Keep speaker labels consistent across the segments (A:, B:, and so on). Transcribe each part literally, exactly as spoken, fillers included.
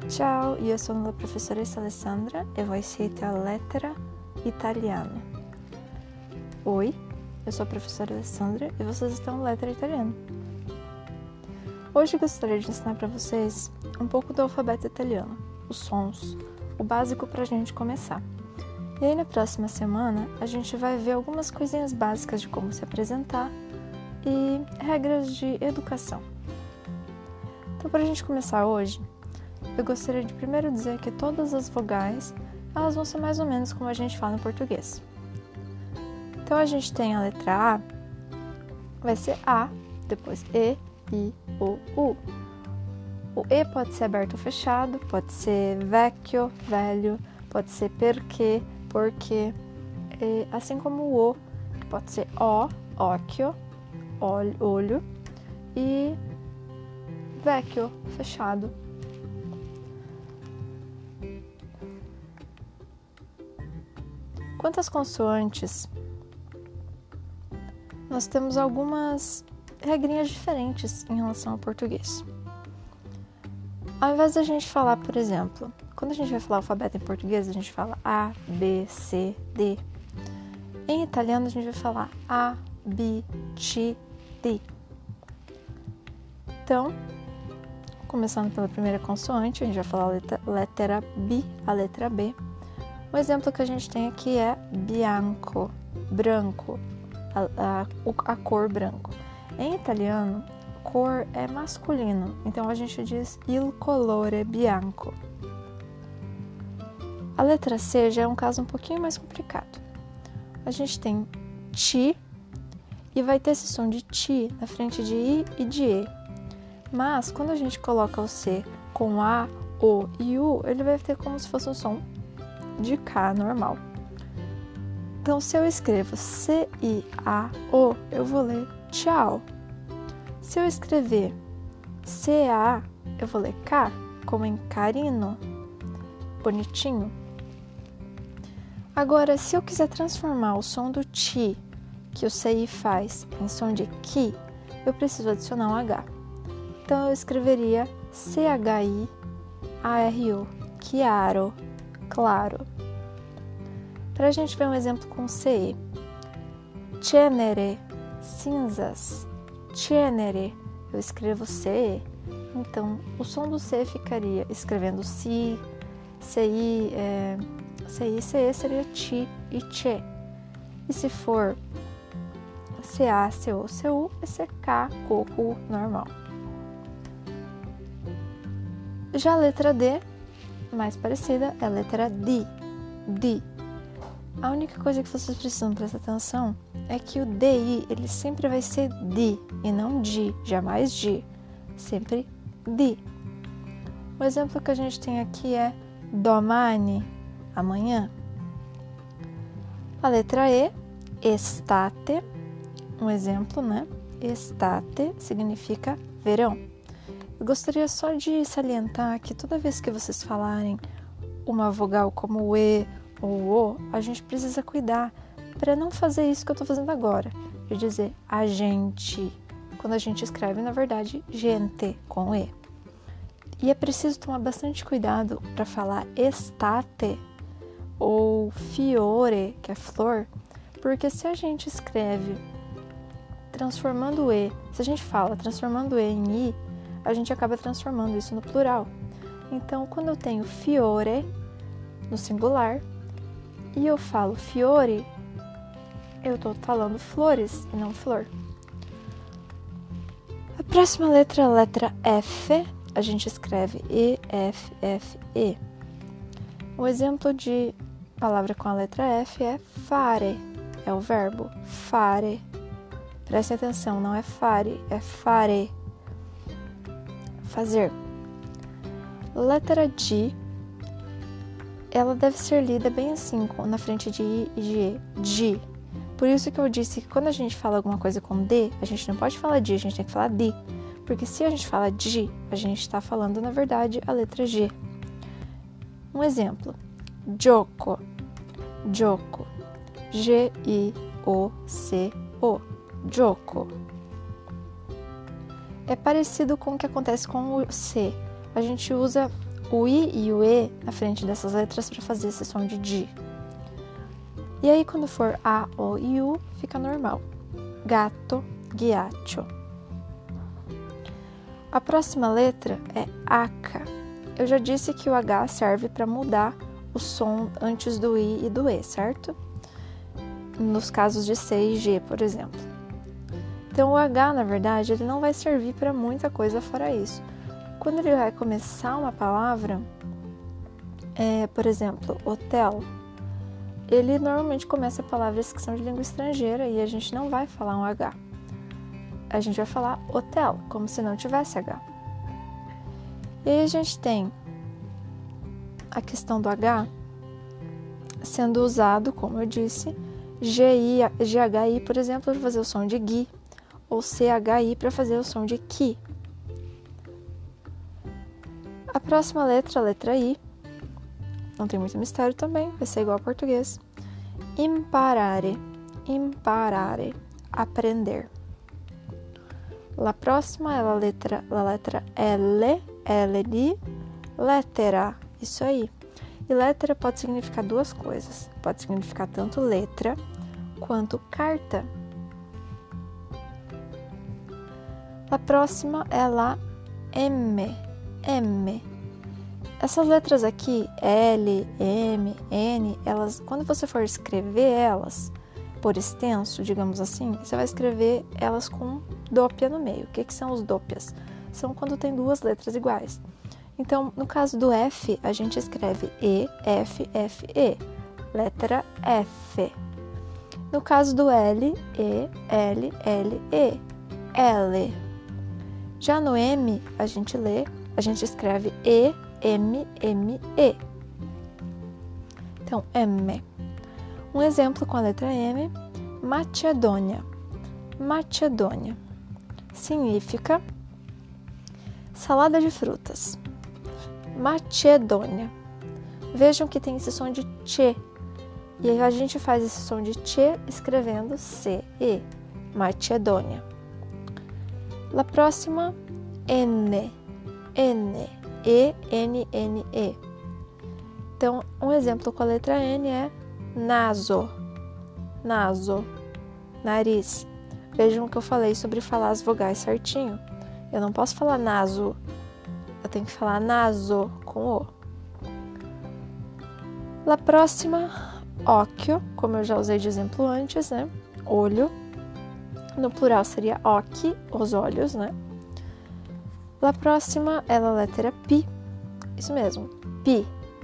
A: Ciao, io sono la professoressa Alessandra e voi siete a Lettera Italiana. Oi, eu sou a professora Alessandra e vocês estão no Lettera Italiana. Hoje gostaria de ensinar para vocês um pouco do alfabeto italiano, os sons, o básico para a gente começar. E aí na próxima semana a gente vai ver algumas coisinhas básicas de como se apresentar e regras de educação. Então, para a gente começar hoje, eu gostaria de primeiro dizer que todas as vogais, elas vão ser mais ou menos como a gente fala em português. Então, a gente tem a letra A, vai ser A, depois E, I, O, U. O E pode ser aberto ou fechado, pode ser vecchio, velho, pode ser perché, porque, e, assim como o O, que pode ser O, occhio, olho, e vecchio, fechado. Quanto às consoantes, nós temos algumas regrinhas diferentes em relação ao português. Ao invés da gente falar, por exemplo, quando a gente vai falar alfabeto em português, a gente fala A, B, C, D. Em italiano, a gente vai falar A, B, C, D. Então, começando pela primeira consoante, a gente vai falar a letra, letra B, a letra B. O exemplo que a gente tem aqui é bianco, branco, a, a, a cor branco. Em italiano, cor é masculino, então a gente diz il colore bianco. A letra C já é um caso um pouquinho mais complicado. A gente tem ti e vai ter esse som de ti na frente de i e de e. Mas quando a gente coloca o C com a, o e u, ele vai ter como se fosse um som de K normal. Então, se eu escrevo C I A O, eu vou ler tchau. Se eu escrever C A, eu vou ler K, como em carino, bonitinho. Agora, se eu quiser transformar o som do ti, que o C I faz, em som de ki, eu preciso adicionar um H. Então, eu escreveria C H I A R O, chiaro, claro. Para a gente ver um exemplo com C E. Cenere, cinzas. Cenere, eu escrevo C E. Então, o som do C ficaria escrevendo si, C I, é, C I, C E seria ti e che. E se for C A, C O, C U, vai ser K, K, U, normal. Já a letra D, mais parecida, é a letra D, D. A única coisa que vocês precisam prestar atenção é que o D I, ele sempre vai ser D e não D, jamais D, sempre D. O exemplo que a gente tem aqui é domani, amanhã. A letra E, estate, um exemplo, né? Estate significa verão. Eu gostaria só de salientar que toda vez que vocês falarem uma vogal como o E ou o, a gente precisa cuidar para não fazer isso que eu estou fazendo agora, de dizer a gente, quando a gente escreve, na verdade, gente, com E. E é preciso tomar bastante cuidado para falar estate ou fiore, que é flor, porque se a gente escreve transformando o E, se a gente fala transformando o E em I, a gente acaba transformando isso no plural. Então, quando eu tenho fiore no singular, e eu falo fiore, eu estou falando flores e não flor. A próxima letra é a letra F. A gente escreve E, F, F, E. O exemplo de palavra com a letra F é fare. É o verbo fare. Preste atenção, não é fare, é fare. Fazer. Letra G. Ela deve ser lida bem assim, na frente de I e de E, G. Por isso que eu disse que quando a gente fala alguma coisa com D, a gente não pode falar D, a gente tem que falar D. Porque se a gente fala G, a gente está falando, na verdade, a letra G. Um exemplo. Gioco. Gioco. G I O C O. Gioco. É parecido com o que acontece com o C. A gente usa o I e o E na frente dessas letras para fazer esse som de di. E aí, quando for A, O e U, fica normal. Gato, ghiaccio. A próxima letra é H. Eu já disse que o H serve para mudar o som antes do I e do E, certo? Nos casos de C e G, por exemplo. Então, o H, na verdade, ele não vai servir para muita coisa fora isso. Quando ele vai começar uma palavra, é, por exemplo, hotel, ele normalmente começa palavras que são de língua estrangeira e a gente não vai falar um H. A gente vai falar hotel, como se não tivesse H. E aí a gente tem a questão do H sendo usado, como eu disse, G I, G H I, por exemplo, para fazer o som de gui, ou C H I para fazer o som de ki. A próxima letra, a letra I, não tem muito mistério também, vai ser igual ao português. Imparare, imparare, aprender. La próxima é a letra, a letra L, L de lettera, isso aí. E letra pode significar duas coisas, pode significar tanto letra quanto carta. A próxima é a M, M. Essas letras aqui, L, M, N, elas, quando você for escrever elas por extenso, digamos assim, você vai escrever elas com dópia no meio. O que, que são os dópias? São quando tem duas letras iguais. Então, no caso do F, a gente escreve E, F, F, E, letra F. No caso do L, E, L, L, E, L. Já no M, a gente lê, a gente escreve E, M, M, E. Então, M. Um exemplo com a letra M, Macedônia. Macedônia significa salada de frutas. Macedônia. Vejam que tem esse som de tchê. E aí a gente faz esse som de tchê escrevendo C, E. Macedônia. La próxima, N. N. E, N, N, E. Então, um exemplo com a letra N é naso. Naso. Nariz. Vejam que eu falei sobre falar as vogais certinho. Eu não posso falar naso. Eu tenho que falar naso com O. La próxima, occhio, como eu já usei de exemplo antes, né? Olho. No plural seria occhi, os olhos, né? La próxima é a letra P. Isso mesmo, P.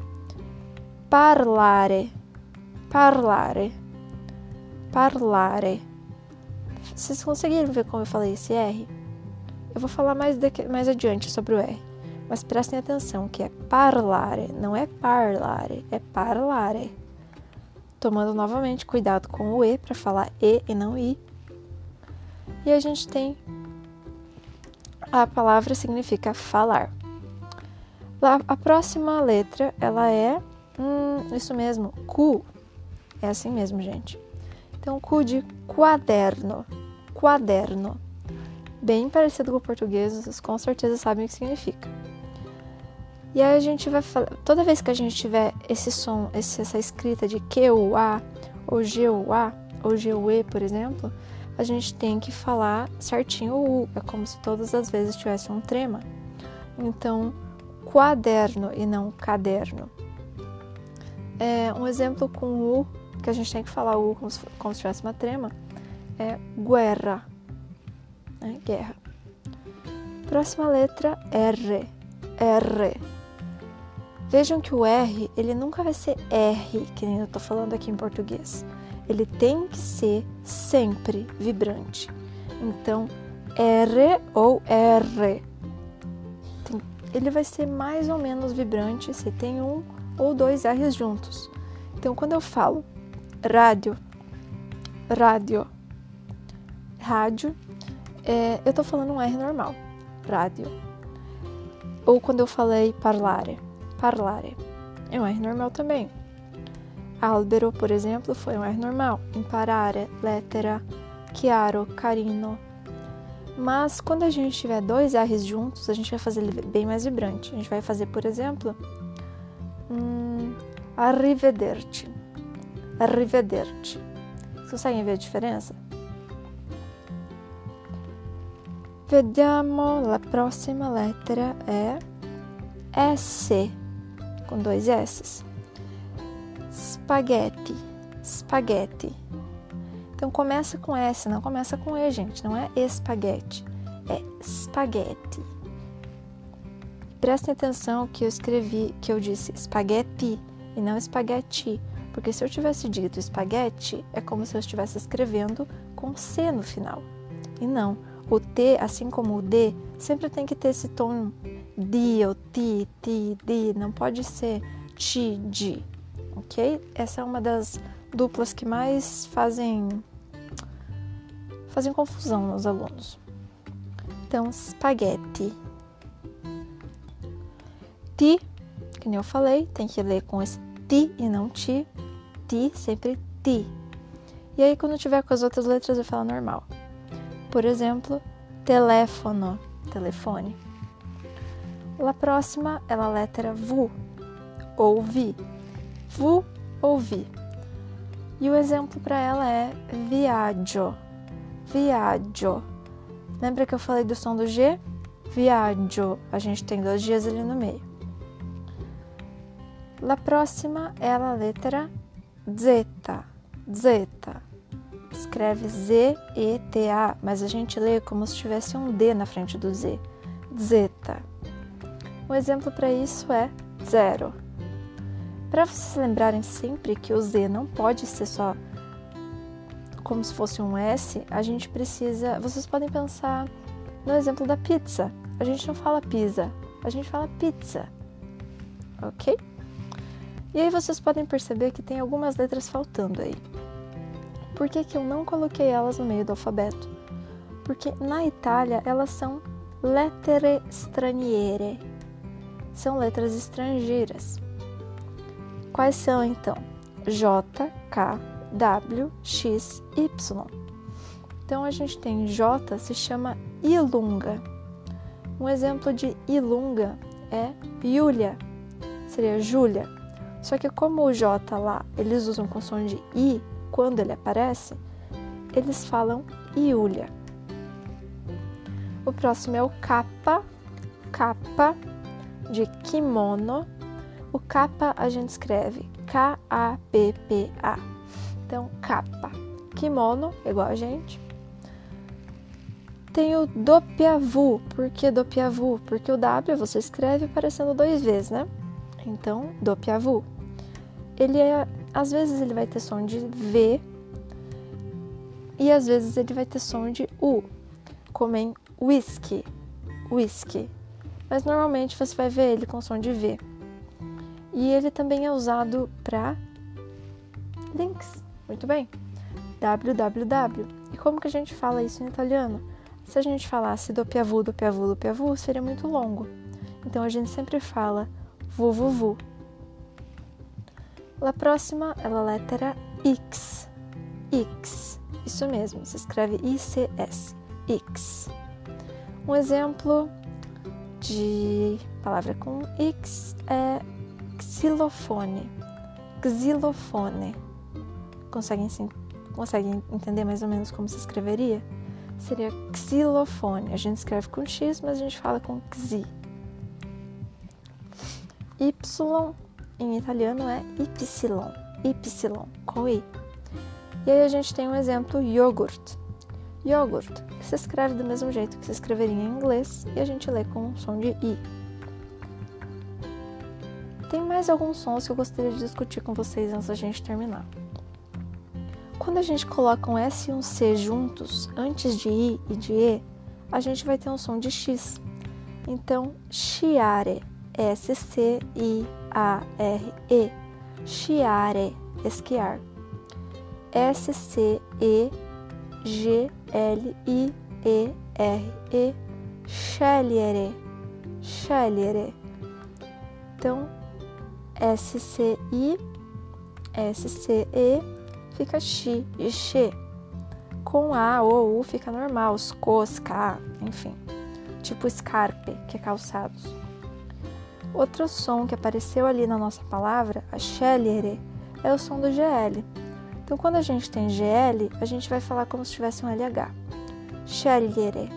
A: Parlare. Parlare. Parlare. Vocês conseguiram ver como eu falei esse R? Eu vou falar mais, daqui, mais adiante sobre o R. Mas prestem atenção que é parlare, não é parlare, é parlare. Tomando novamente cuidado com o E para falar E e não I. E a gente tem a palavra significa falar. A próxima letra, ela é, hum, isso mesmo, Q. É assim mesmo, gente. Então, Q de quaderno. Quaderno. Bem parecido com o português, vocês com certeza sabem o que significa. E aí a gente vai falar, toda vez que a gente tiver esse som, esse, essa escrita de Q U A, ou G U A, ou G U E, por exemplo, a gente tem que falar certinho o U. É como se todas as vezes tivesse um trema. Então, quaderno e não caderno. É, um exemplo com U, que a gente tem que falar U como se, como se tivesse uma trema, é guerra. Né? Guerra. Próxima letra, R. R. Vejam que o R, ele nunca vai ser R, que nem eu tô falando aqui em português. Ele tem que ser sempre vibrante. Então, R ou R. Tem, ele vai ser mais ou menos vibrante se tem um ou dois R's juntos. Então, quando eu falo rádio, rádio, rádio, é, eu tô falando um R normal, rádio. Ou quando eu falei parlare, parlare, é um R normal também. Albero, por exemplo, foi um R normal. Imparare, lettera, chiaro, carino. Mas quando a gente tiver dois R's juntos, a gente vai fazer ele bem mais vibrante. A gente vai fazer, por exemplo, hum, arrivederci. Arrivederci. Vocês conseguem ver a diferença? Vediamo, la prossima lettera é S, com dois S. Spaghetti, spaghetti. Então começa com S, não começa com E, gente. Não é espaguete, é spaghetti. Prestem atenção que eu escrevi, que eu disse spaghetti e não espaguete. Porque se eu tivesse dito espaguete, é como se eu estivesse escrevendo com C no final. E não. O T, assim como o D, sempre tem que ter esse tom di ou ti, ti, di. Não pode ser ti, di. Ok? Essa é uma das duplas que mais fazem, fazem confusão nos alunos. Então, spaghetti. Ti, que nem eu falei, tem que ler com esse ti e não ti. Ti, sempre ti. E aí, quando tiver com as outras letras, eu falo normal. Por exemplo, telefono, telefone. A próxima é a letra V, ouvi. V, ouvi. E o exemplo para ela é viaggio, viaggio. Lembra que eu falei do som do G? Viaggio, a gente tem dois Gs ali no meio. A próxima é a letra Z, Z. Escreve Z E T A, mas a gente lê como se tivesse um D na frente do Z. Zeta. Um exemplo para isso é zero. Para vocês lembrarem sempre que o Z não pode ser só como se fosse um S, a gente precisa... Vocês podem pensar no exemplo da pizza. A gente não fala pizza, a gente fala pizza. Ok? E aí vocês podem perceber que tem algumas letras faltando aí. Por que que eu não coloquei elas no meio do alfabeto? Porque na Itália elas são lettere straniere. São letras estrangeiras. Quais são então? J, K, W, X, Y. Então a gente tem J, se chama ilunga. Um exemplo de ilunga é Giulia. Seria Júlia. Só que como o J lá, eles usam com som de I, quando ele aparece, eles falam Iulia. O próximo é o kappa, kappa de kimono. O kappa a gente escreve K A P P A. Então, kappa. Kimono, igual a gente. Tem o doppia-vu. Por que doppia-vu? Porque o W você escreve aparecendo dois vezes, né? Então, doppia-vu. Ele é... Às vezes ele vai ter som de V e às vezes ele vai ter som de U, como em whisky, whisky. Mas normalmente você vai ver ele com som de V. E ele também é usado para links. Muito bem. www. E como que a gente fala isso em italiano? Se a gente falasse doppia-vu, doppia-vu, doppia-vu, seria muito longo. Então a gente sempre fala www. A próxima é a letra X. X. Isso mesmo, se escreve I C S. X. Um exemplo de palavra com X é xilofone. Xilofone. Conseguem, sim, conseguem entender mais ou menos como se escreveria? Seria xilofone. A gente escreve com X, mas a gente fala com xi. Y em italiano é Y, Y, com I. E aí a gente tem um exemplo, iogurte. Iogurte, que se escreve do mesmo jeito que se escreveria em inglês, e a gente lê com o som de I. Tem mais alguns sons que eu gostaria de discutir com vocês antes da gente terminar. Quando a gente coloca um S e um C juntos, antes de I e de E, a gente vai ter um som de X. Então, sciare, S C I A R E, sciare, esquiar. S C E G L I E R E, scegliere, scegliere. Então, S C I, S C E, fica chi, de che. com A ou U fica normal, sco, ska, enfim. Tipo scarpe, que é calçados. Outro som que apareceu ali na nossa palavra, a scegliere, é o som do G L. Então, quando a gente tem G L, a gente vai falar como se tivesse um L H. Scegliere.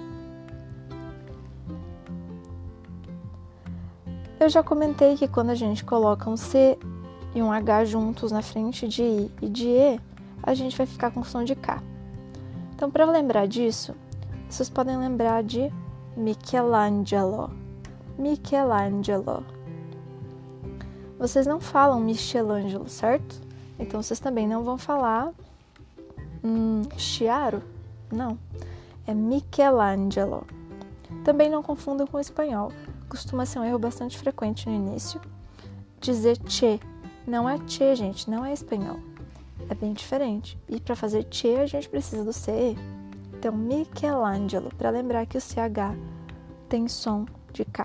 A: Eu já comentei que quando a gente coloca um C e um H juntos na frente de I e de E, a gente vai ficar com o som de K. Então, para lembrar disso, vocês podem lembrar de Michelangelo. Michelangelo. Vocês não falam Michelangelo, certo? Então, vocês também não vão falar hum, Chiaro? Não. É Michelangelo. Também não confundam com o espanhol. Costuma ser um erro bastante frequente no início. Dizer che. Não é che, gente. Não é espanhol. É bem diferente. E para fazer che, a gente precisa do C E. Então, Michelangelo. Para lembrar que o C H tem som de K.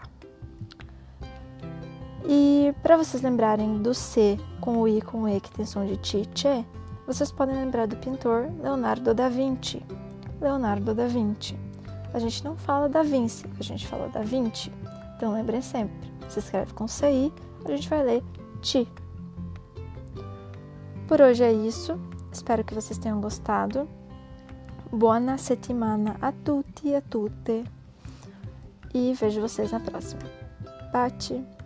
A: E para vocês lembrarem do C com o I com o E, que tem som de ti, che, vocês podem lembrar do pintor Leonardo da Vinci. Leonardo da Vinci. A gente não fala da Vinci, a gente fala da Vinci. Então lembrem sempre, se escreve com C I, a gente vai ler ti. Por hoje é isso, espero que vocês tenham gostado. Buona settimana a tutti e a tutte. E vejo vocês na próxima. Bate!